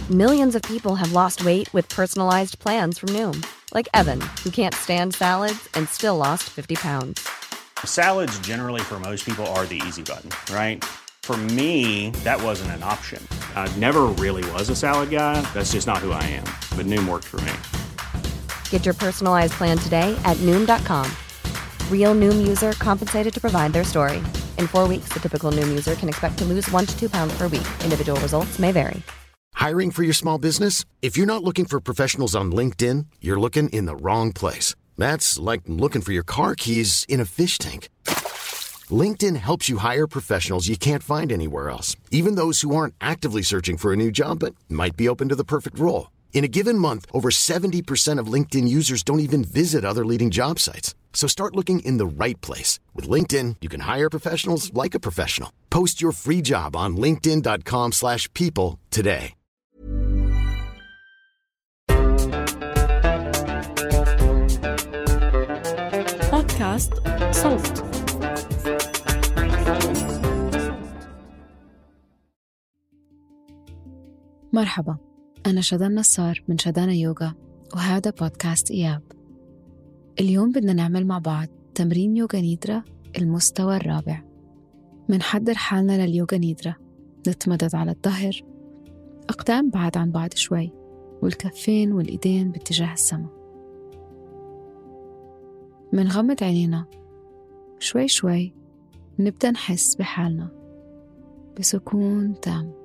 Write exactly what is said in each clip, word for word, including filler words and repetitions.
Millions of people have lost weight with personalized plans from Noom, like Evan, who can't stand salads and still lost fifty pounds. Salads generally for most people are the easy button, right? For me, that wasn't an option. I never really was a salad guy. That's just not who I am. But Noom worked for me. Get your personalized plan today at Noom dot com. Real Noom user compensated to provide their story. In four weeks, the typical Noom user can expect to lose one to two pounds per week. Individual results may vary. Hiring for your small business? If you're not looking for professionals on LinkedIn, you're looking in the wrong place. That's like looking for your car keys in a fish tank. LinkedIn helps you hire professionals you can't find anywhere else, even those who aren't actively searching for a new job but might be open to the perfect role. In a given month, over seventy percent of LinkedIn users don't even visit other leading job sites. So start looking in the right place. With LinkedIn, you can hire professionals like a professional. Post your free job on linkedin dot com slash people today. بودكاست صوت. مرحبا، أنا شدان نصار من شدانا يوغا، وهذا بودكاست إياب. اليوم بدنا نعمل مع بعض تمرين يوغا نيدرا المستوى الرابع. منحضر حالنا لليوغا نيدرا، نتمدد على الظهر، أقدام بعد عن بعض شوي، والكفين والإيدين باتجاه السماء. منغمض عينينا شوي شوي، نبدأ نحس بحالنا بسكون تام.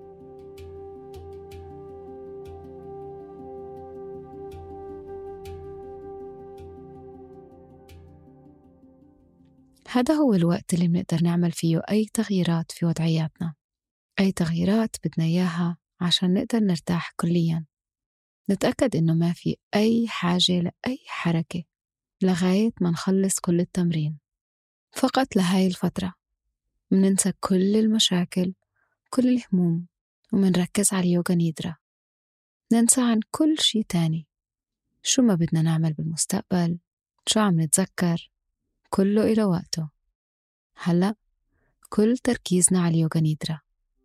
هذا هو الوقت اللي بنقدر نعمل فيه أي تغييرات في وضعياتنا، أي تغييرات بدنا إياها عشان نقدر نرتاح كلياً. نتأكد إنه ما في أي حاجة لأي حركة لغاية ما نخلص كل التمرين. فقط لهاي الفترة مننسى كل المشاكل، كل الهموم، ومنركز على اليوغا نيدرا. ننسى عن كل شي تاني، شو ما بدنا نعمل بالمستقبل، شو عم نتذكر، كله إلى وقته. هلأ كل تركيزنا على اليوغا نيدرا.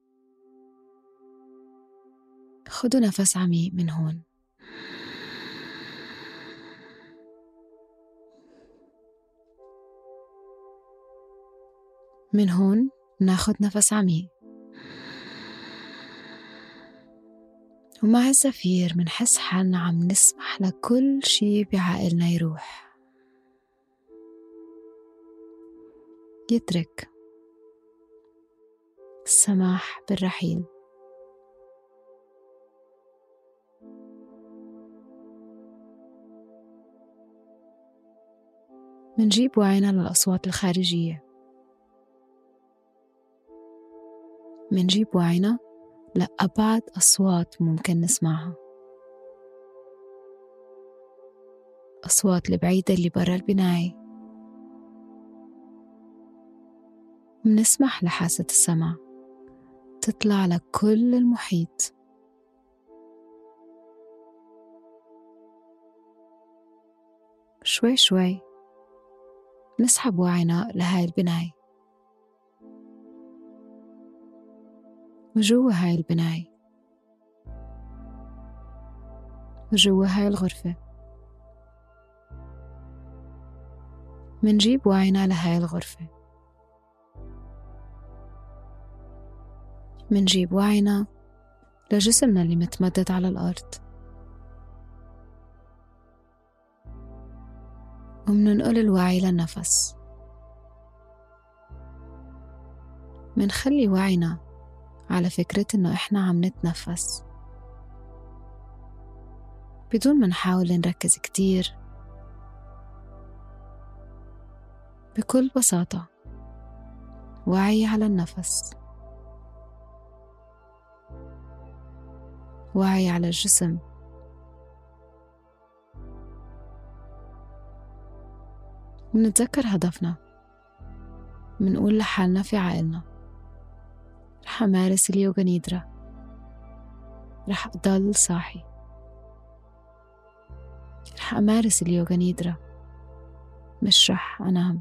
خدوا نفس عميق من هون، من هون ناخد نفس عميق، ومع الزفير منحس حالنا عم نسمح لكل شي بعقلنا يروح، يترك. السماح بالرحيل. منجيب وعينا للأصوات الخارجية، منجيب وعينا لأبعد أصوات ممكن نسمعها، أصوات البعيدة اللي برا البناية. منسمح لحاسة السمع تطلع لكل المحيط. شوي شوي نسحب وعينا لهاي البناية، وجوا هاي البناية، وجوا هاي الغرفة. منجيب وعينا لهاي الغرفة، منجيب وعينا لجسمنا اللي متمدد على الأرض، ومننقل الوعي للنفس. منخلي وعينا على فكرة إنه إحنا عم نتنفس بدون ما نحاول نركز كتير. بكل بساطة وعي على النفس، وعي على الجسم. منتذكر هدفنا، منقول لحالنا في عقلنا رح أمارس اليوغا نيدرا، رح أضل صاحي، رح أمارس اليوغا نيدرا، مش رح أنام.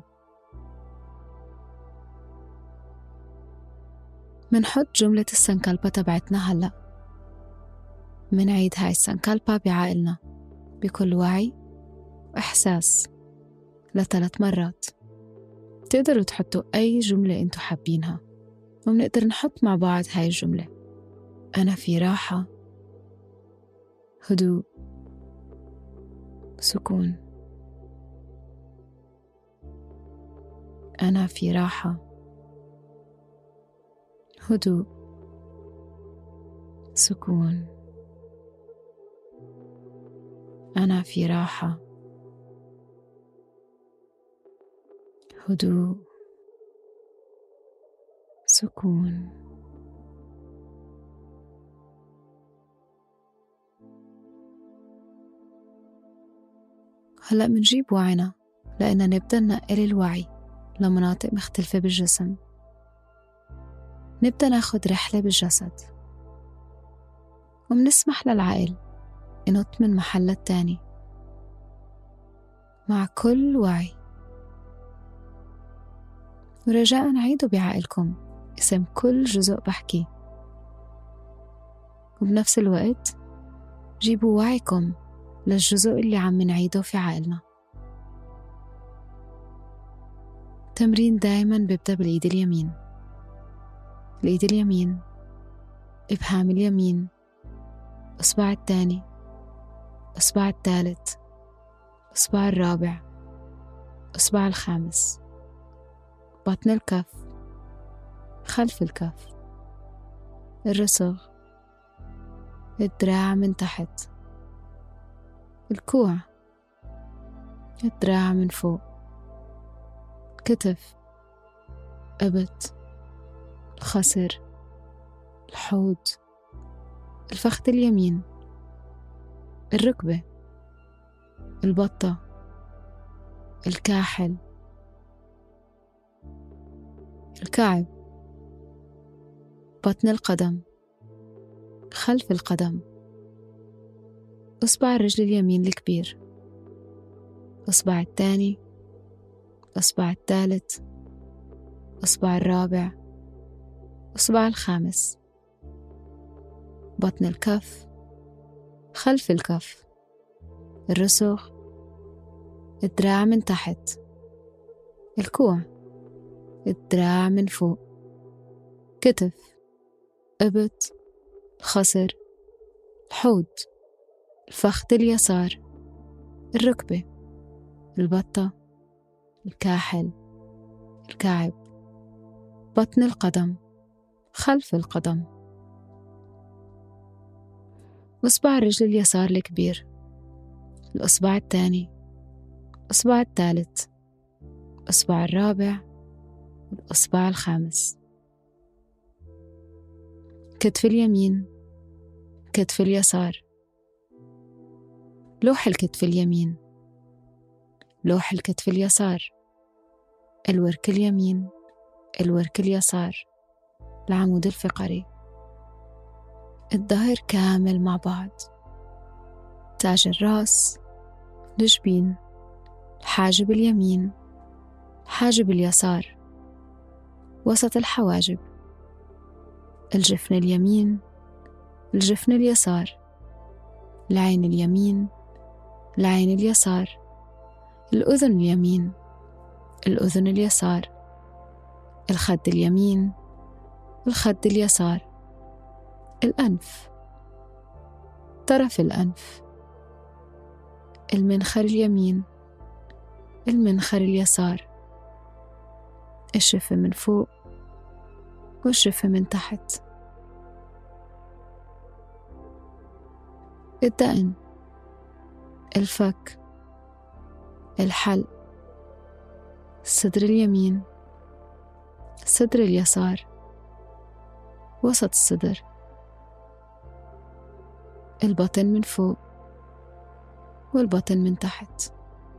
منحط جملة السنكالبا تبعتنا هلأ، منعيد هاي السنكالبا بعقلنا بكل وعي وإحساس لثلاث مرات. تقدروا تحطوا أي جملة أنتوا حابينها، ومنقدر نحط مع بعض هاي الجملة: أنا في راحة، هدوء، سكون. أنا في راحة، هدوء، سكون. أنا في راحة، هدوء، سكون. هلأ منجيب وعينا لأننا نبدأ ننقل الوعي لمناطق مختلفة بالجسم. نبدأ ناخد رحلة بالجسد، ومنسمح للعقل ينط من محل التاني مع كل وعي. ورجاء عيدوا بعقلكم اسم كل جزء بحكي، وبنفس الوقت جيبوا وعيكم للجزء اللي عم نعيده في عقلنا. تمرين دايما بيبدأ بالإيد اليمين. الإيد اليمين، إبهام اليمين، إصبع الثاني، إصبع الثالث، إصبع الرابع، إصبع الخامس، بطن الكف، خلف الكف، الرسغ، الدراع من تحت، الكوع، الدراع من فوق، كتف، إبط، الخصر، الحوض، الفخذ اليمين، الركبة، البطة، الكاحل، الكعب، بطن القدم، خلف القدم، إصبع الرجل اليمين الكبير، إصبع الثاني، إصبع الثالث، إصبع الرابع، إصبع الخامس، بطن الكف، خلف الكف، الرسغ، الدراع من تحت، الكوع، الدراع من فوق، كتف، إبط، الخصر، الحوض، الفخذ اليسار، الركبة، البطة، الكاحل، الكعب، بطن القدم، خلف القدم، إصبع الرجل اليسار الكبير، الإصبع الثاني، الإصبع الثالث، الإصبع الرابع، الإصبع الخامس، كتف اليمين، كتف اليسار، لوح الكتف اليمين، لوح الكتف اليسار، الورك اليمين، الورك اليسار، العمود الفقري، الظهر كامل مع بعض، تاج الرأس، الجبين، الحاجب اليمين، الحاجب اليسار، وسط الحواجب، الجفن اليمين، الجفن اليسار، العين اليمين، العين اليسار، الأذن اليمين، الأذن اليسار، الخد اليمين، الخد اليسار، الأنف، طرف الأنف، المنخر اليمين، المنخر اليسار، الشفة من فوق والشفة من تحت، الدقن، الفك، الحلق، الصدر اليمين، الصدر اليسار، وسط الصدر، البطن من فوق والبطن من تحت،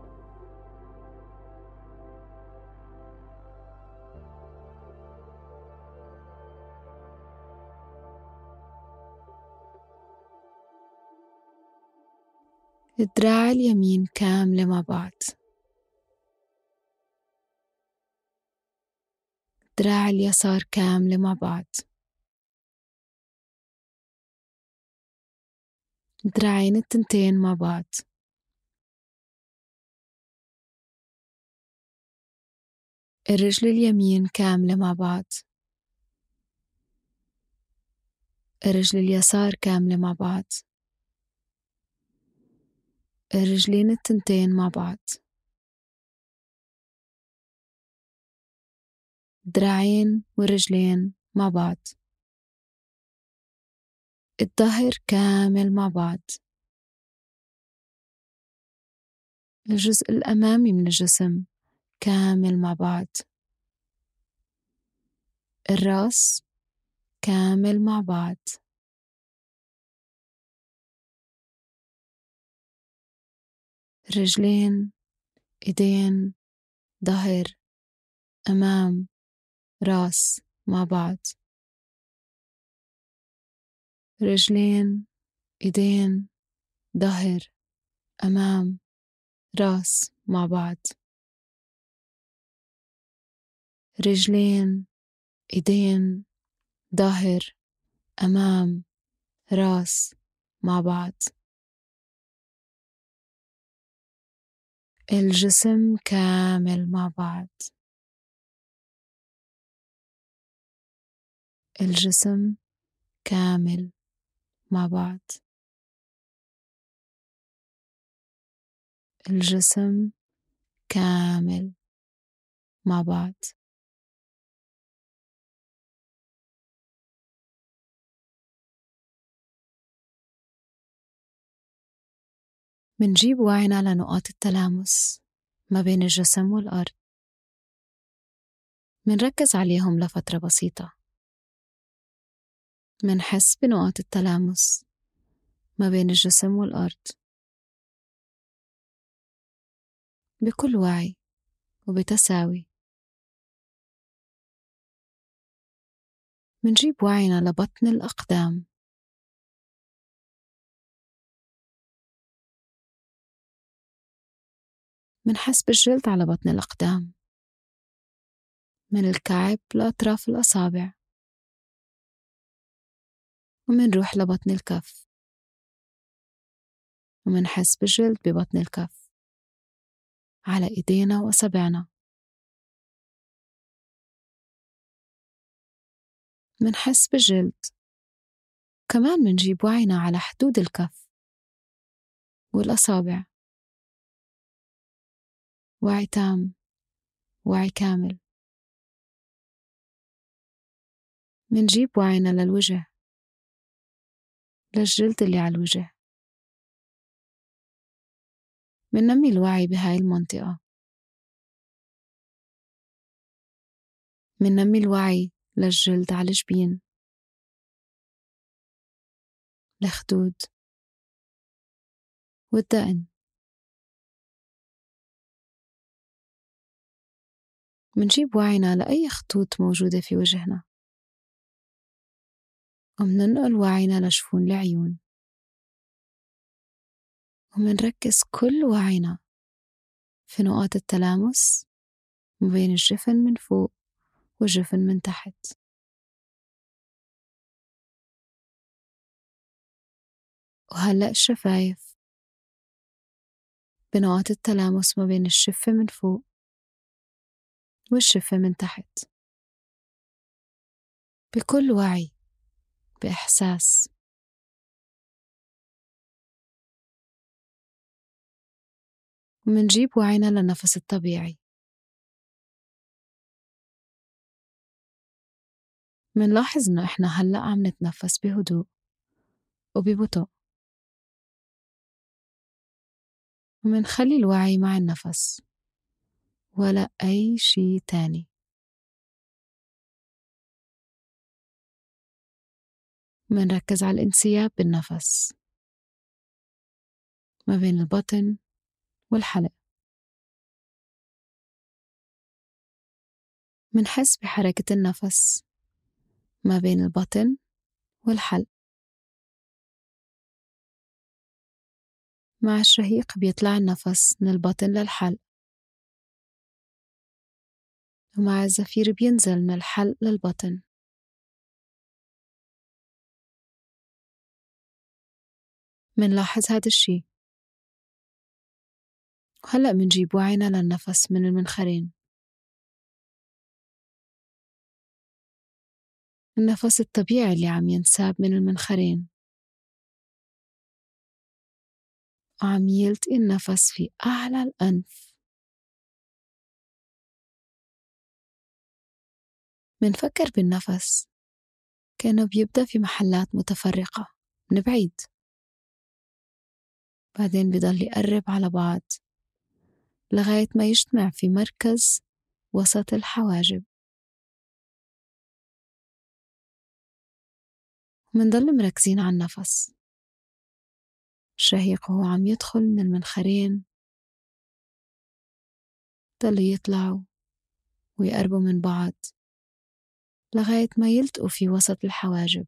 الدراع اليمين كاملة مع بعض، الدراع اليسار كاملة مع بعض، دراعين التنتين مع بعض، الرجل اليمين كاملة مع بعض، الرجل اليسار كاملة مع بعض، الرجلين التنتين مع بعض، دراعين والرجلين مع بعض، الظهر كامل مع بعض، الجزء الأمامي من الجسم كامل مع بعض، الرأس كامل مع بعض، رجلين، إيدين، ظهر، أمام، رأس مع بعض، رجلين، إيدين، ظهر، أمام، رأس مع بعض، رجلين، إيدين، ظهر، أمام، رأس مع بعض، الجسم كامل مع بعض، الجسم كامل مع بعض، الجسم كامل مع بعض. منجيب وعينا لنقاط التلامس ما بين الجسم والأرض، منركز عليهم لفترة بسيطة، منحس بنقاط التلامس ما بين الجسم والأرض بكل وعي وبتساوي. منجيب وعينا لبطن الأقدام، منحس بالجلد على بطن الأقدام من الكعب لأطراف الأصابع، ومنروح لبطن الكف ومنحس بالجلد ببطن الكف على إيدينا وأصابعنا، منحس بالجلد. كمان منجيب وعينا على حدود الكف والأصابع، وعي تام، وعي كامل. منجيب وعينا للوجه، للجلد اللي على الوجه، مننمي الوعي بهاي المنطقة، مننمي الوعي للجلد على الجبين، الخدود والدقن. منجيب وعينا لأي خطوط موجودة في وجهنا، ومننقل وعينا لجفون العيون، ومنركز كل وعينا في نقاط التلامس ما بين الجفن من فوق والجفن من تحت. وهلأ الشفايف بنقاط التلامس ما بين الشفة من فوق والشفة من تحت، بكل وعي، بإحساس. ومنجيب وعينا للنفس الطبيعي، منلاحظ إنه إحنا هلأ عم نتنفس بهدوء وببطء، ومنخلي الوعي مع النفس ولا أي شي تاني. منركز على الانسياب بالنفس ما بين البطن والحلق، منحس بحركة النفس ما بين البطن والحلق. مع الشهيق بيطلع النفس من البطن للحلق، ومع الزفير بينزل من الحلق للبطن. منلاحظ هذا الشي. وهلأ منجيب وعينا للنفس من المنخرين. النفس الطبيعي اللي عم ينساب من المنخرين، وعم يلتقي النفس في أعلى الأنف. منفكر بالنفس كأنه بيبدأ في محلات متفرقة من بعيد، بعدين بيضل يقرب على بعض لغاية ما يجتمع في مركز وسط الحواجب. منضل مركزين على النفس. الشهيق وهو عم يدخل من المنخرين ضلوا يطلعوا ويقربوا من بعض لغاية ما يلتقوا في وسط الحواجب،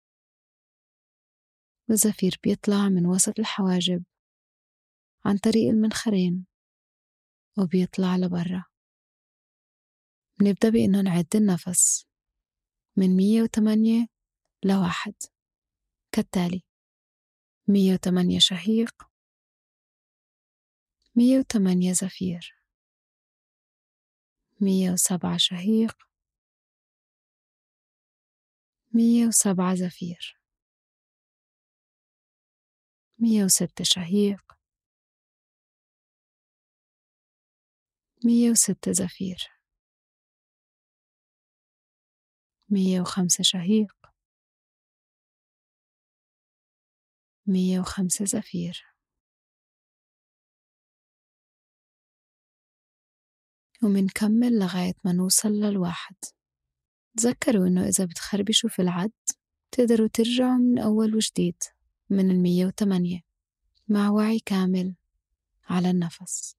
والزفير بيطلع من وسط الحواجب عن طريق المنخرين وبيطلع لبرا. بنبدأ بإنه نعد النفس من مية وثمانية لواحد كالتالي: مية وثمانية شهيق، مية وثمانية زفير، مية وسبعة شهيق، مية وسبعة زفير، مية وستة شهيق، مية وستة زفير، مية وخمسة شهيق، مية وخمسة زفير. ومنكمل لغاية ما نوصل للواحد. تذكروا إنه إذا بتخربشوا في العد تقدروا ترجعوا من أول وجديد من المية وثمانية مع وعي كامل على النفس.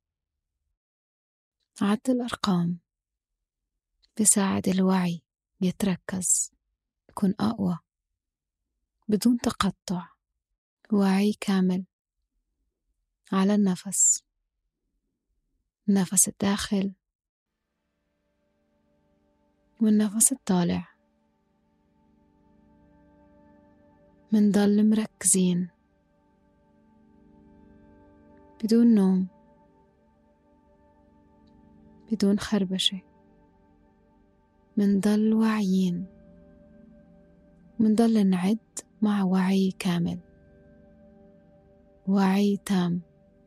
عد الأرقام بساعد الوعي يتركز، يكون أقوى بدون تقطع. وعي كامل على النفس، النفس الداخل والنفس الطالع. منضل مركزين بدون نوم، بدون خربشة. منضل واعيين، منضل نعد مع وعي كامل، وعي تام.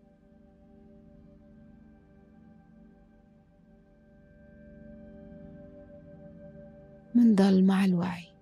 منضل مع الوعي.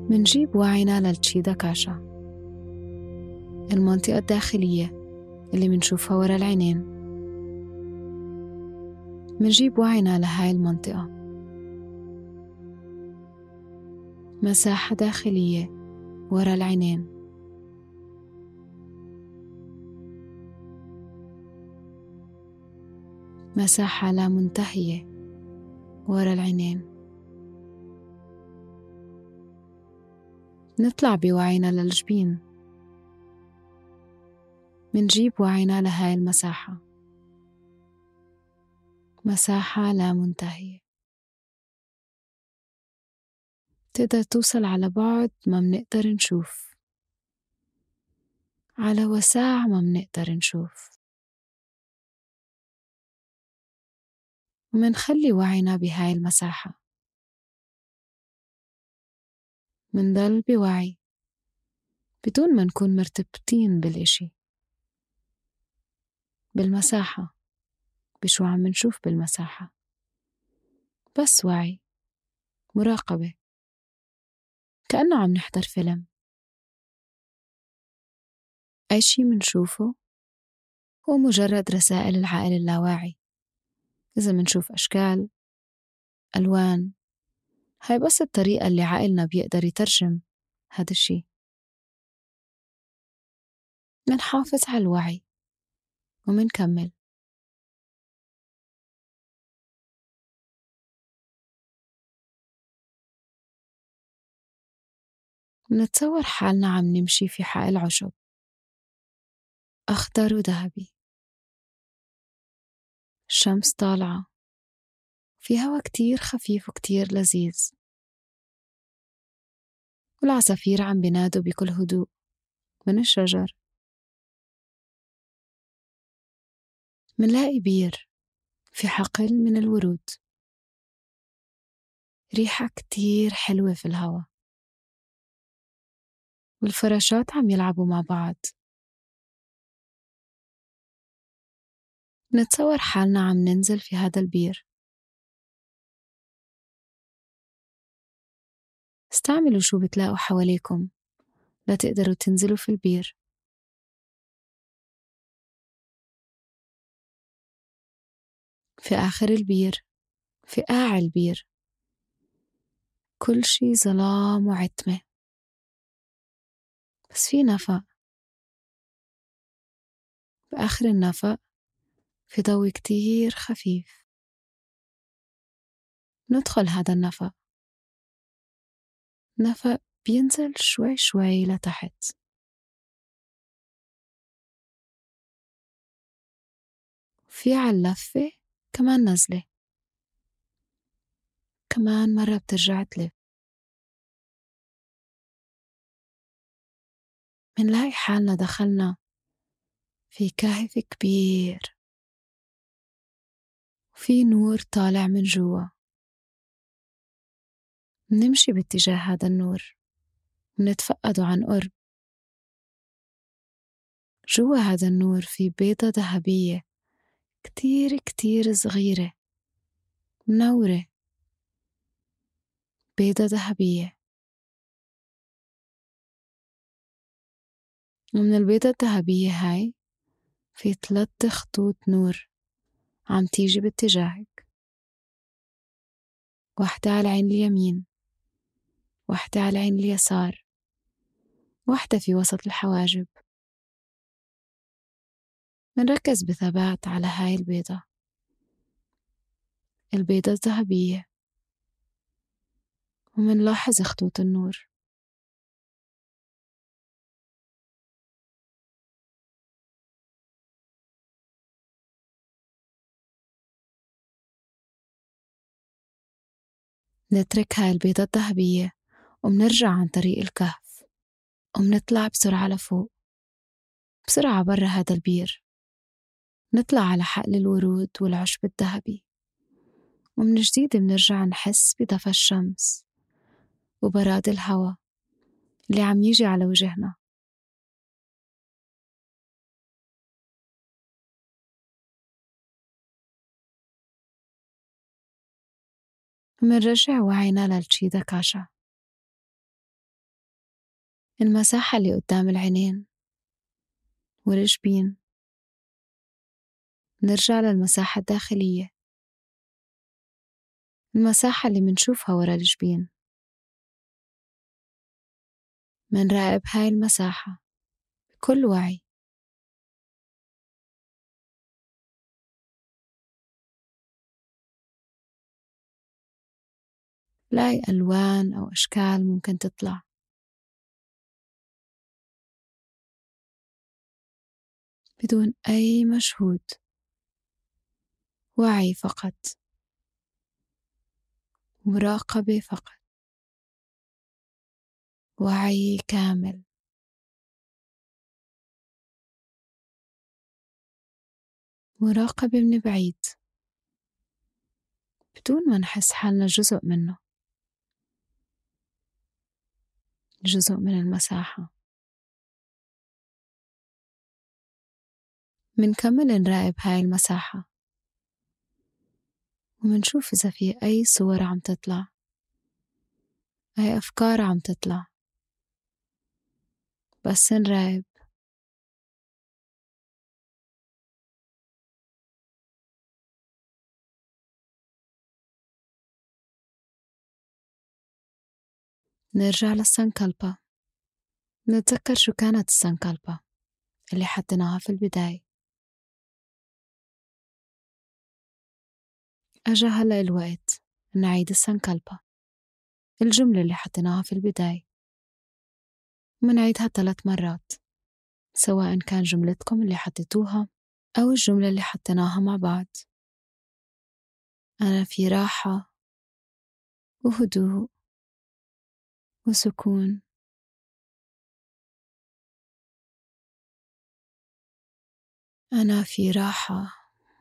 منجيب وعينا للتشيدا كاشا، المنطقة الداخلية اللي منشوفها ورا العينين. منجيب وعينا لهاي المنطقة، مساحة داخلية ورا العينين. مساحة لا منتهية ورا العينين. نطلع بوعينا للجبين، منجيب وعينا لهاي المساحة، مساحة لا منتهية. تقدر توصل على بعد ما منقدر نشوف، على وساع ما منقدر نشوف، ومنخلي وعينا بهاي المساحة. منضل بوعي بدون ما نكون مرتبطين بالإشي، بالمساحة، بشو عم نشوف بالمساحة. بس وعي، مراقبة، كأنه عم نحضر فيلم. أي شي منشوفه هو مجرد رسائل العقل اللاواعي. إذا منشوف أشكال، ألوان، هاي بس الطريقة اللي عقلنا بيقدر يترجم هذا الشي. منحافظ على الوعي ومنكمل. منتصور حالنا عم نمشي في حقل عشب أخضر وذهبي، الشمس طالعة، في هوا كتير خفيف وكتير لذيذ، والعصافير عم بينادوا بكل هدوء من الشجر. منلاقي بير في حقل من الورود، ريحة كتير حلوة في الهوا، والفراشات عم يلعبوا مع بعض. نتصور حالنا عم ننزل في هذا البير. استعملوا شو بتلاقوا حواليكم لا تقدروا تنزلوا في البير. في آخر البير، في قاع البير، كل شي ظلام وعتمة، بس في نفق. بآخر النفق في ضوء كتير خفيف. ندخل هذا النفق، نفق بينزل شوي شوي لتحت. في عاللفة كمان نزلة، كمان مرة بترجع تلف. منلاقي حالنا دخلنا في كهف كبير، وفي نور طالع من جوا. منمشي باتجاه هذا النور، منتفقده عن قرب. جوا هذا النور في بيضة ذهبية كتير كتير صغيرة منورة، بيضة ذهبية. ومن البيضة الذهبية هاي في ثلاث خطوط نور عم تيجي باتجاهك، واحدة على العين اليمين، واحدة على العين اليسار، واحدة في وسط الحواجب. منركز بثبات على هاي البيضة، البيضة الذهبية، ومنلاحظ خطوط النور. نترك هاي البيضة الذهبية ومنرجع عن طريق الكهف، ومنطلع بسرعة لفوق، بسرعة برا هذا البير. نطلع على حقل الورود والعشب الذهبي، ومن جديد منرجع نحس بدفى الشمس وبراد الهوا اللي عم يجي على وجهنا. منرجع وعينا للتشيدا كاشا، المساحة اللي قدام العينين والجبين. نرجع للمساحة الداخلية، المساحة اللي منشوفها ورا الجبين. منراقب هاي المساحة بكل وعي. لاقي ألوان أو أشكال ممكن تطلع، بدون أي مجهود، وعي فقط، مراقبة فقط، وعي كامل. مراقبة من بعيد بدون ما نحس حالنا جزء منه، جزء من المساحة. منكمل نراقب هاي المساحة ومنشوف إذا في أي صور عم تطلع، أي أفكار عم تطلع. بس نراقب. نرجع للسنكالبا، نتذكر شو كانت السنكالبا اللي حطيناها في البداية. أجا هلأ الوقت نعيد السنكالبا، الجملة اللي حطيناها في البداية، منعيدها ثلاث مرات، سواء كان جملتكم اللي حطيتوها أو الجملة اللي حطيناها مع بعض. أنا في راحة وهدوء وسكون. أنا في راحة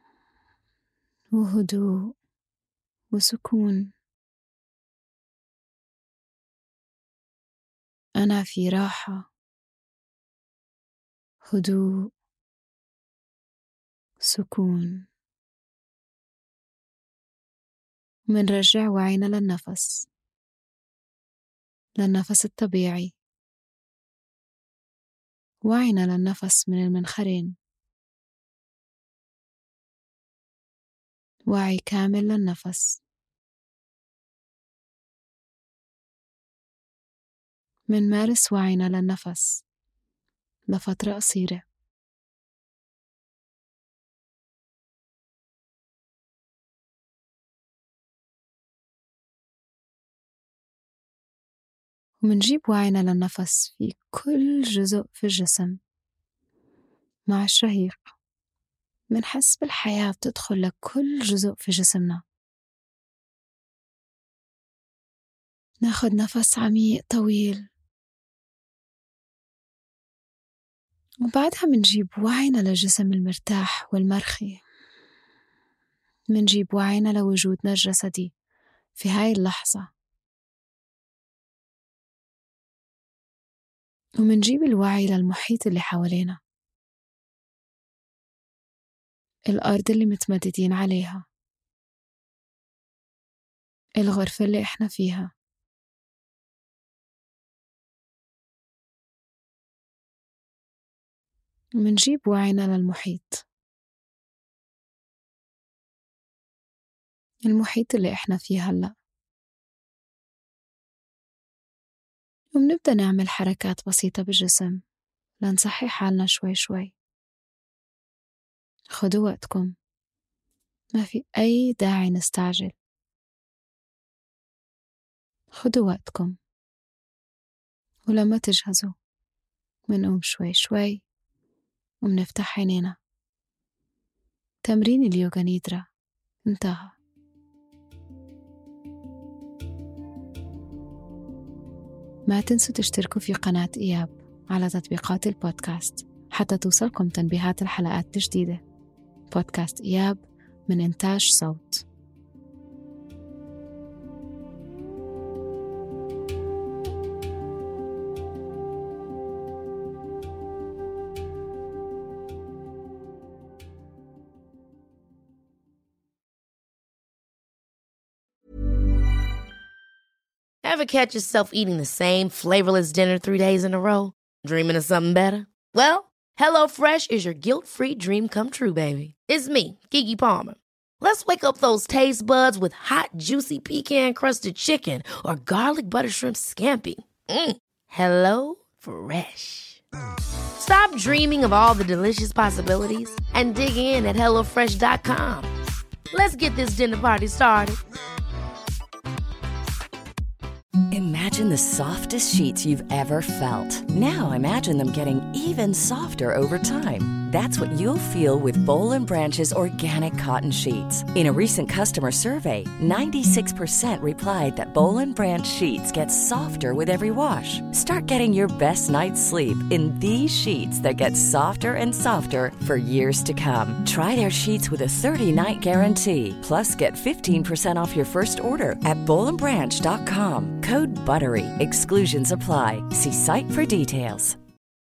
وهدوء وسكون. أنا في راحة هدوء سكون. منرجع وعينا للنفس، للنفس الطبيعي. وعينا للنفس من المنخرين، وعي كامل للنفس. منمارس وعينا للنفس لفترة قصيرة. ومنجيب وعينا للنفس في كل جزء في الجسم. مع الشهيق منحس بالحياة بتدخل لكل جزء في جسمنا. ناخد نفس عميق طويل، وبعدها منجيب وعينا للجسم المرتاح والمرخي. منجيب وعينا لوجودنا الجسدي في هاي اللحظة، ومنجيب الوعي للمحيط اللي حوالينا، الأرض اللي متمددين عليها، الغرفة اللي إحنا فيها. منجيب وعينا للمحيط، المحيط اللي إحنا فيه هلأ. ومنبدأ نعمل حركات بسيطة بالجسم لنصحي حالنا شوي شوي. خدوا وقتكم، ما في أي داعي نستعجل. خدوا وقتكم، ولما تجهزوا منقوم شوي شوي ومنفتح عينينا. تمرين اليوغا نيدرا انتهى. ما تنسوا تشتركوا في قناة إياب على تطبيقات البودكاست حتى توصلكم تنبيهات الحلقات الجديدة. بودكاست إياب من إنتاج صوت. Ever catch yourself eating the same flavorless dinner three days in a row? Dreaming of something better? Well, HelloFresh is your guilt-free dream come true, baby. It's me, Keke Palmer. Let's wake up those taste buds with hot, juicy pecan-crusted chicken or garlic butter shrimp scampi. Mm. Hello Fresh. Stop dreaming of all the delicious possibilities and dig in at hello fresh dot com. Let's get this dinner party started. Imagine the softest sheets you've ever felt. Now imagine them getting even softer over time. That's what you'll feel with Boll and Branch's organic cotton sheets. In a recent customer survey, ninety-six percent replied that Boll and Branch sheets get softer with every wash. Start getting your best night's sleep in these sheets that get softer and softer for years to come. Try their sheets with a thirty-night guarantee. Plus, get fifteen percent off your first order at boll and branch dot com. Code BUTTERY. Exclusions apply. See site for details.